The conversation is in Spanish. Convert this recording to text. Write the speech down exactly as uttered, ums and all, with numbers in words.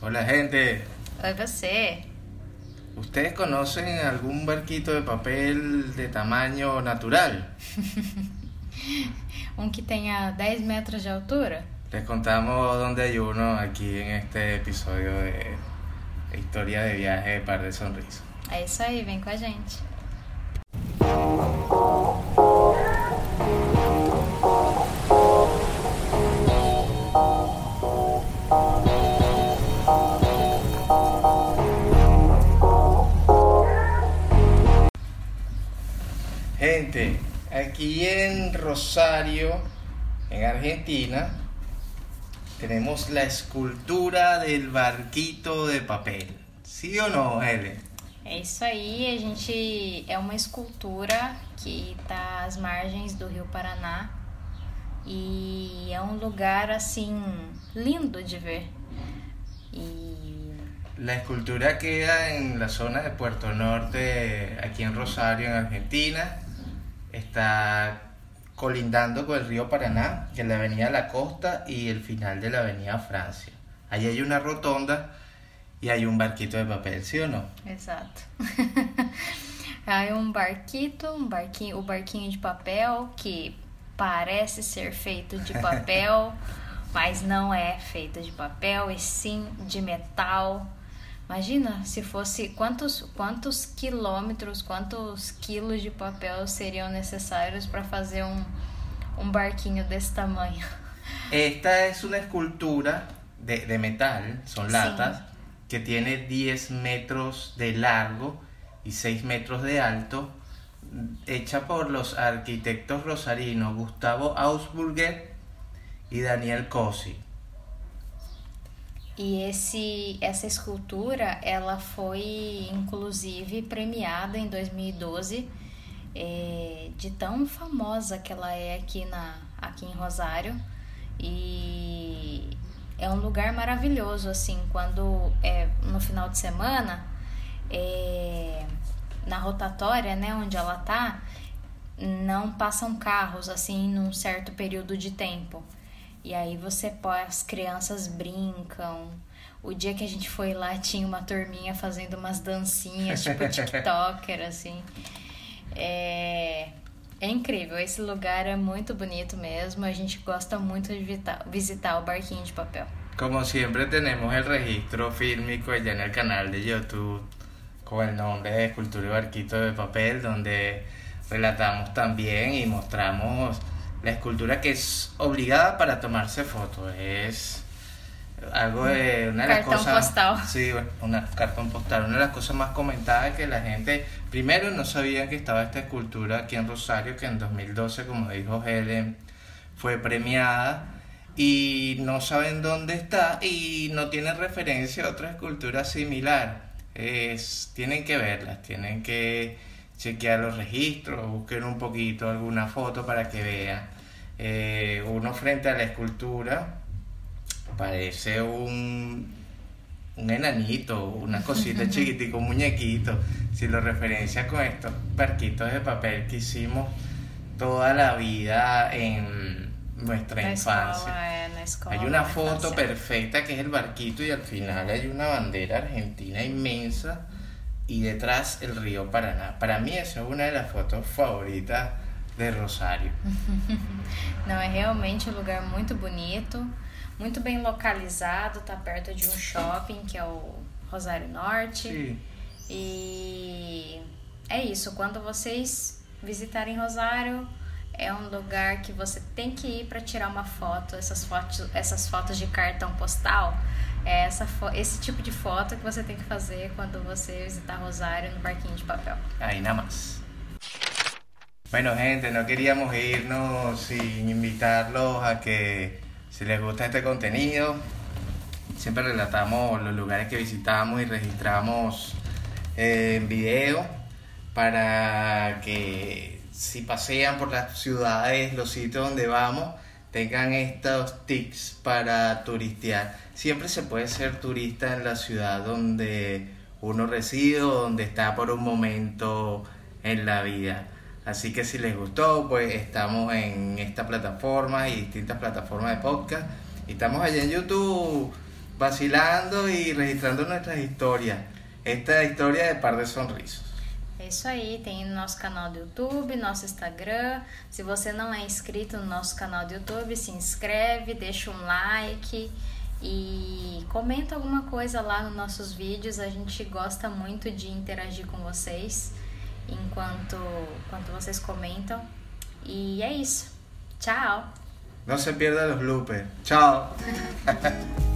Hola gente, Oi, você. ¿ustedes conocen algún barquito de papel de tamaño natural? Um que tenha dez metros de altura? Les contamos dónde hay uno aquí en este episodio de Historia de Viaje de Par de Sonrisas. É isso aí, vem com a gente. Gente, aquí en Rosario, en Argentina, tenemos la escultura del barquito de papel. ¿Sí o no, Helen? É isso aí, a gente é uma escultura que tá às margens do Rio Paraná e é um lugar assim lindo de ver. E La escultura queda en la zona de Puerto Norte, aquí en Rosario, en Argentina. Está colindando con el río Paraná, que es la avenida La Costa y el final de la avenida Francia. Allí hay una rotonda y hay un barquito de papel, ¿sí o no? exato. Aí um barquito, um barquinho, o barquinho de papel que parece ser feito de papel, mas não é feito de papel, e sim de metal. Imagina se fosse quantos, quantos quilômetros, quantos quilos de papel seriam necessários para fazer um, um barquinho desse tamanho. Esta es una escultura de, de metal, son Sí. latas, que tiene diez metros de largo y seis metros de alto, hecha por los arquitectos rosarinos Gustavo Ausburger y Daniel Cosi. E esse, essa escultura, ela foi inclusive premiada em dois mil e doze, é, de tão famosa que ela é aqui, na, aqui em Rosário. E é um lugar maravilhoso, assim, quando é no final de semana, é, na rotatória, né, onde ela tá, não passam carros, assim, num certo período de tempo. E aí você pode, as crianças brincam. O dia que a gente foi lá tinha uma turminha fazendo umas dancinhas, tipo TikToker, assim. É, é incrível, esse lugar é muito bonito mesmo. A gente gosta muito de visitar, visitar o barquinho de papel. Como siempre tenemos el registro fílmico allá en el canal de YouTube con el nombre de Escultura y Barquito de Papel, donde relatamos también y mostramos la escultura, que es obligada para tomarse fotos. Es algo de una de las Cartón cosas, postal. sí, una cartón postal, una de las cosas más comentadas, que la gente primero no sabía que estaba esta escultura aquí en Rosario, que en dos mil doce, como dijo Helen, fue premiada, y no saben dónde está y no tienen referencia a otra escultura similar. Es, tienen que verlas, tienen que chequear los registros, busquen un poquito alguna foto para que vean. Eh, uno frente a la escultura parece un, un enanito, una cosita chiquitica, un muñequito. Si lo referencia con estos barquitos de papel que hicimos toda la vida en nuestra Na infancia. escola, é, na escola. Hay una na foto infância. perfecta que es el barquito y al final hay una bandera argentina inmensa y detrás el río Paraná. Para mí esa es una de las fotos favoritas de Rosario. Não, é realmente um lugar muito bonito, muito bem localizado, tá perto de um shopping que é o Rosário Norte. Sí. E é isso, quando vocês visitarem Rosário, é um lugar que você tem que ir para tirar uma foto. Essas fotos, essas fotos de cartão postal, é essa fo- esse tipo de foto que você tem que fazer quando você visitar Rosário no barquinho de papel. Ahí nada más. Bueno, gente, no queríamos irnos sin invitarlos a que, si les gusta este contenido, siempre relatamos los lugares que visitamos y registramos eh, en video, para que si pasean por las ciudades, los sitios donde vamos, tengan estos tips para turistear. Siempre se puede ser turista en la ciudad donde uno reside o donde está por un momento en la vida. Así que si les gustó, pues estamos en esta plataforma y distintas plataformas de podcast. Y estamos allá en YouTube vacilando y registrando nuestras historias. Esta historia de Par de Sorrisos. É isso aí, tem nosso canal do YouTube, nosso Instagram. Se você não é inscrito no nosso canal do YouTube, se inscreve, deixa um like e comenta alguma coisa lá nos nossos vídeos. A gente gosta muito de interagir com vocês enquanto, enquanto vocês comentam. E é isso. Tchau! No se pierdan los bloopers. Chao.